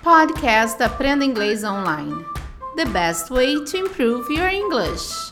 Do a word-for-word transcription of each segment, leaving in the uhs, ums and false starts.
Podcast Aprenda Inglês Online. The best way to improve your English.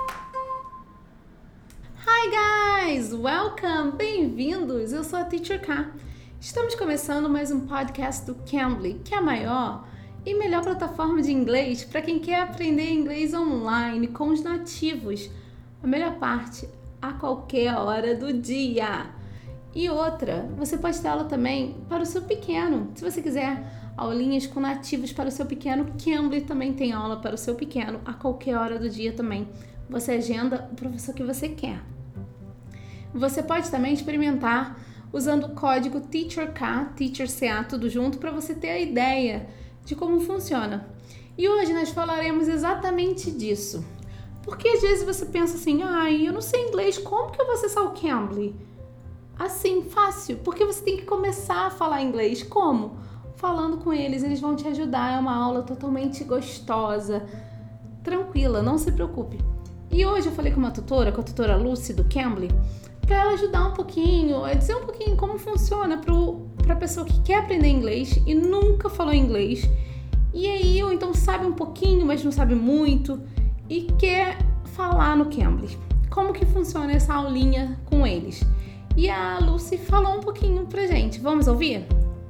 Hi guys, welcome, bem-vindos. Eu sou a Teacher K. Estamos começando mais um podcast do Cambly, que é a maior e melhor plataforma de inglês para quem quer aprender inglês online com os nativos. A melhor parte, a qualquer hora do dia. E outra, você pode ter aula também para o seu pequeno. Se você quiser aulinhas com nativos para o seu pequeno, Cambly também tem aula para o seu pequeno a qualquer hora do dia também. Você agenda o professor que você quer. Você pode também experimentar usando o código TEACHERK, TEACHERCA, tudo junto, para você ter a ideia de como funciona. E hoje nós falaremos exatamente disso. Porque às vezes você pensa assim, ai, eu não sei inglês, como que eu vou acessar o Cambly? Assim, fácil, porque você tem que começar a falar inglês. Como? Falando com eles, eles vão te ajudar. É uma aula totalmente gostosa, tranquila, não se preocupe. E hoje eu falei com uma tutora, com a tutora Lucy do Cambly, para ela ajudar um pouquinho, a dizer um pouquinho como funciona para a pessoa que quer aprender inglês e nunca falou inglês. E aí, ou então sabe um pouquinho, mas não sabe muito e quer falar no Cambly. Como que funciona essa aulinha com eles? E a Lucy falou um pouquinho pra gente. Vamos ouvir?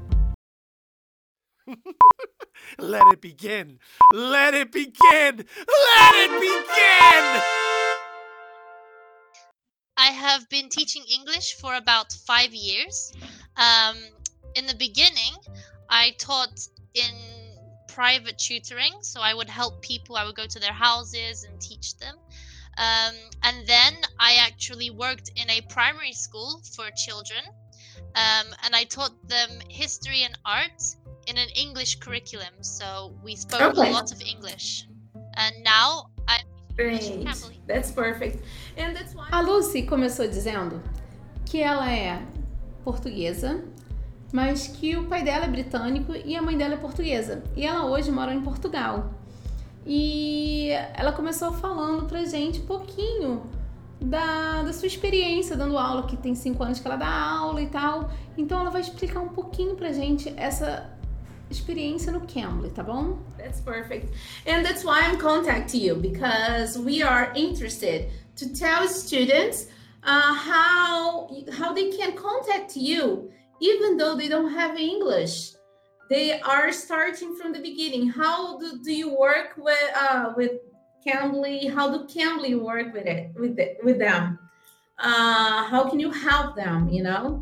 Let it begin! Let it begin! Let it begin! I have been teaching English for about five years. Um, in the beginning, I taught in private tutoring, so I would help people. I would go to their houses and teach them. Um, and then I actually worked in a primary school for children, um, and I taught them history and art in an English curriculum. So we spoke Okay. a lot of English. And now I'm teaching Great. Cambly. That's perfect. And that's why... A Lucy começou dizendo que ela é portuguesa, mas que o pai dela é britânico e a mãe dela é portuguesa. E ela hoje mora em Portugal. E ela começou falando pra gente um pouquinho da, da sua experiência dando aula, que tem cinco anos que ela dá aula e tal. Então ela vai explicar um pouquinho pra gente essa experiência no Cambly, tá bom? That's perfect. And that's why I'm contacting you, because we are interested to tell students uh, how how they can contact you even though they don't have English. They are starting from the beginning. How do, do you work with uh, with Cambly? How do Cambly work with it with it, with them? Uh, how can you help them, you know?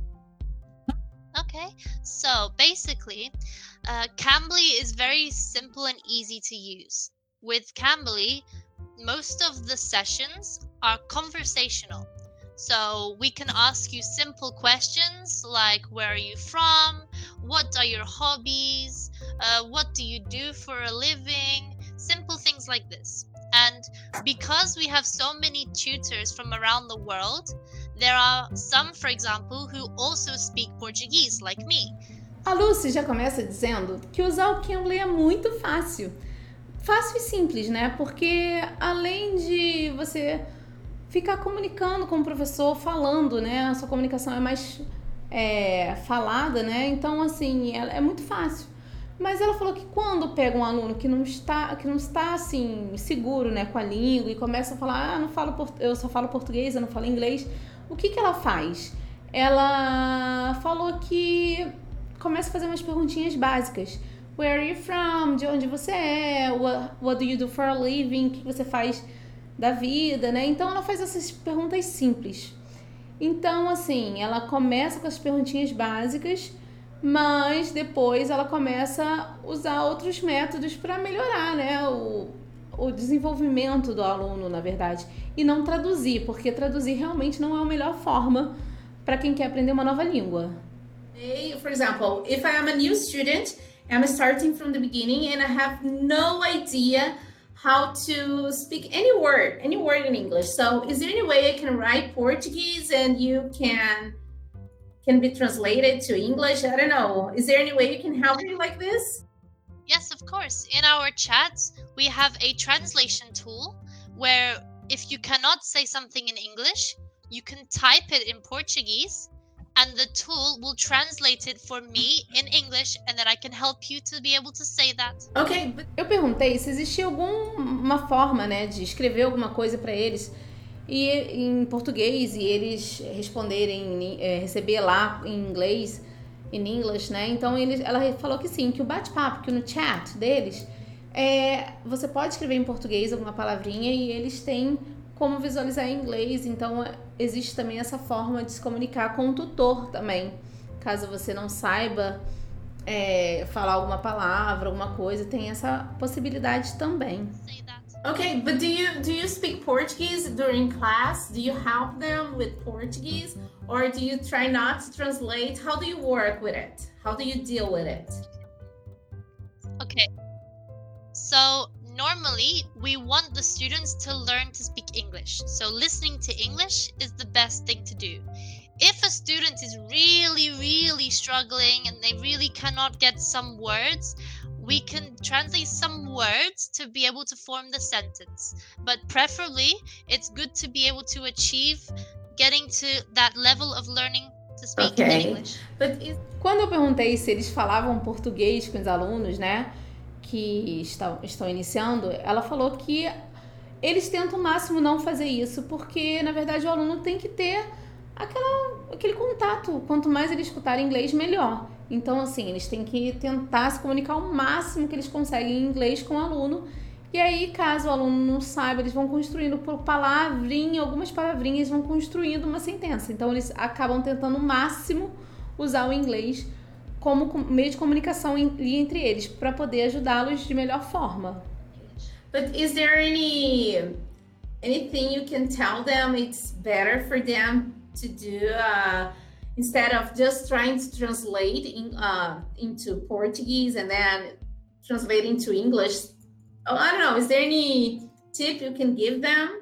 Okay, so basically, uh, Cambly is very simple and easy to use. With Cambly, most of the sessions are conversational. So we can ask you simple questions like, where are you from? What are your hobbies? Uh, what do you do for a living? Simple things like this. And because we have so many tutors from around the world, there are some, for example, who also speak Portuguese, like me. A Lucy já começa dizendo que usar o Cambly é muito fácil. Fácil e simples, né? Porque além de você ficar comunicando com o professor, falando, né? A sua comunicação é mais é, falada, né? Então, assim, é, é muito fácil. Mas ela falou que quando pega um aluno que não está, que não está assim, seguro, né, com a língua e começa a falar, ah, não falo, eu só falo português, eu não falo inglês, o que que ela faz? Ela falou que começa a fazer umas perguntinhas básicas. Where are you from? De onde você é? What, what do you do for a living? O que você faz da vida, né? Então ela faz essas perguntas simples. Então, assim, ela começa com as perguntinhas básicas, mas depois ela começa a usar outros métodos para melhorar, né, o, o desenvolvimento do aluno, na verdade, e não traduzir, porque traduzir realmente não é a melhor forma para quem quer aprender uma nova língua. For example, if I am a new student, I'm starting from the beginning and I have no idea how to speak any word, any word in English. So is there any way I can write Portuguese and you can can be translated to English? I don't know. Is there any way you can help me like this? Yes, of course. In our chats, we have a translation tool where if you cannot say something in English, you can type it in Portuguese and the tool will translate it for me in English, and then I can help you to be able to say that. Okay, but Eu perguntei se existia alguma forma, né, de escrever alguma coisa para eles e em português e eles responderem, é, receber lá em inglês, in English, né? Então eles, ela falou que sim, que o bate-papo, que no chat deles, é, você pode escrever em português alguma palavrinha e eles têm como visualizar em inglês. Então existe também essa forma de se comunicar com o tutor também, caso você não saiba é, falar alguma palavra, alguma coisa, tem essa possibilidade também. Say that. okay, but do you do you speak Portuguese during class? Do you help them with Portuguese, or do you try not to translate? How do you work with it? How do you deal with it? Okay. So normally we want the students to learn to speak English. So listening to English is the best thing to do. If a student is really, really struggling and they really cannot get some words, we can translate some words to be able to form the sentence. But preferably, it's good to be able to achieve getting to that level of learning to speak Okay. English. But is Quando eu perguntei se eles falavam português com os alunos, né, que estão, estão iniciando, ela falou que eles tentam o máximo não fazer isso, porque, na verdade, o aluno tem que ter aquela, aquele contato. Quanto mais ele escutar inglês, melhor. Então, assim, eles têm que tentar se comunicar o máximo que eles conseguem em inglês com o aluno. E aí, caso o aluno não saiba, eles vão construindo por palavrinha, algumas palavrinhas, vão construindo uma sentença. Então, eles acabam tentando o máximo usar o inglês como com- meio de comunicação en- entre eles, para poder ajudá-los de melhor forma. but is there any anything you can tell them it's better for them to do uh, instead of just trying to translate in, uh, into Portuguese and then translate into English? Oh, I don't know. Is there any tip you can give them?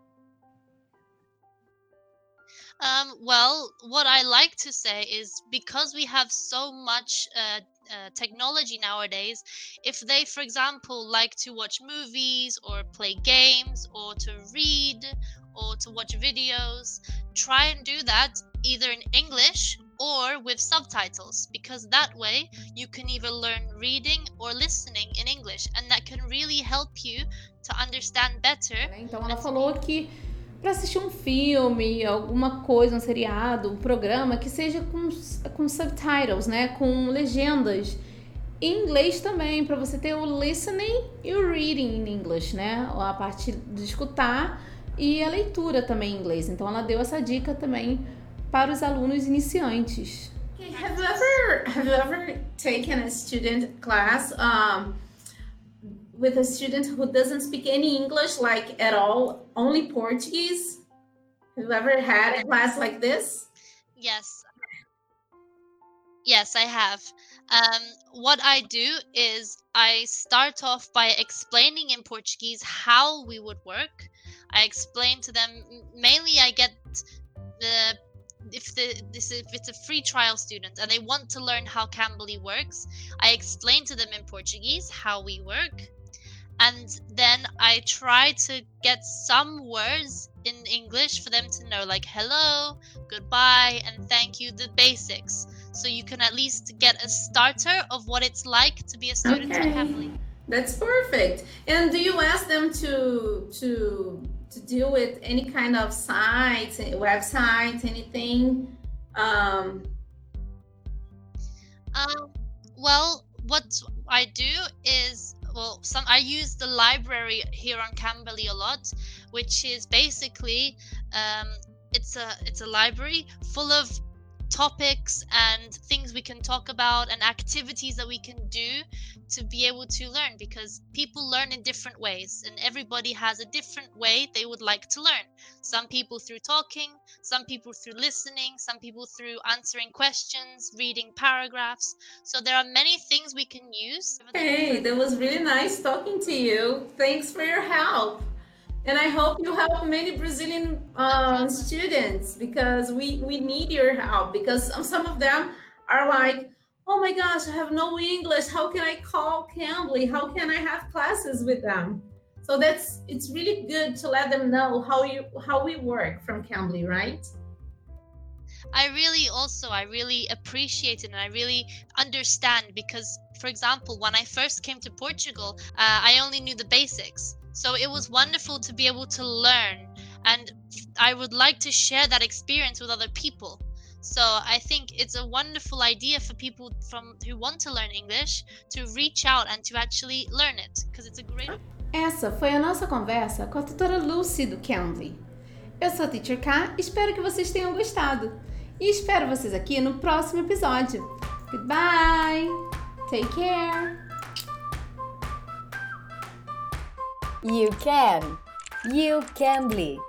Um, well, what I like to say is because we have so much uh, uh, technology nowadays, if they, for example, like to watch movies or play games or to read or to watch videos, try and do that either in English or with subtitles, because that way you can either learn reading or listening in English, and that can really help you to understand better. Né? Então ela falou que para assistir um filme, alguma coisa, um seriado, um programa que seja com, com subtitles, né, com legendas em inglês também, para você ter o listening e o reading in English, né, a parte de escutar e a leitura também em inglês. Então ela deu essa dica também para os alunos iniciantes. Okay, have you ever have you ever taken a student class um, with a student who doesn't speak any English, like at all, only Portuguese? Have you ever had a class like this? Yes. Yes, I have. Um, what I do is I start off by explaining in Portuguese how we would work. I explain to them, m- mainly I get the if the this if it's a free trial student and they want to learn how Cambly works, I explain to them in Portuguese how we work. And then I try to get some words in English for them to know, like hello, goodbye, and thank you, the basics. So you can at least get a starter of what it's like to be a student Okay. at Cambly. That's perfect. And do you ask them to to to deal with any kind of sites, websites, anything? Um, Um, well, what I do is, well, some I use the library here on Cambly a lot, which is basically um, it's a it's a library full of topics and things we can talk about and activities that we can do to be able to learn, because people learn in different ways and everybody has a different way they would like to learn. Some people through talking, some people through listening, some people through answering questions, reading paragraphs. So there are many things we can use. hey, that was really nice talking to you. Thanks for your help. And I hope you help many Brazilian uh, students, because we, we need your help, because some, some of them are like, oh my gosh, I have no English. How can I call Cambly? How can I have classes with them? So that's it's really good to let them know how you how we work from Cambly, right? I really also, I really appreciate it and I really understand because, for example, when I first came to Portugal, uh, I only knew the basics. So it was wonderful to be able to learn, and I would like to share that experience with other people. So I think it's a wonderful idea for people from who want to learn English to reach out and to actually learn it, because it's a great. Essa foi a nossa conversa com a tutora Lucy do Cambly. Eu sou a Teacher K, espero que vocês tenham gostado. E espero vocês aqui no próximo episódio. Goodbye! Take care! You can. You Cambly.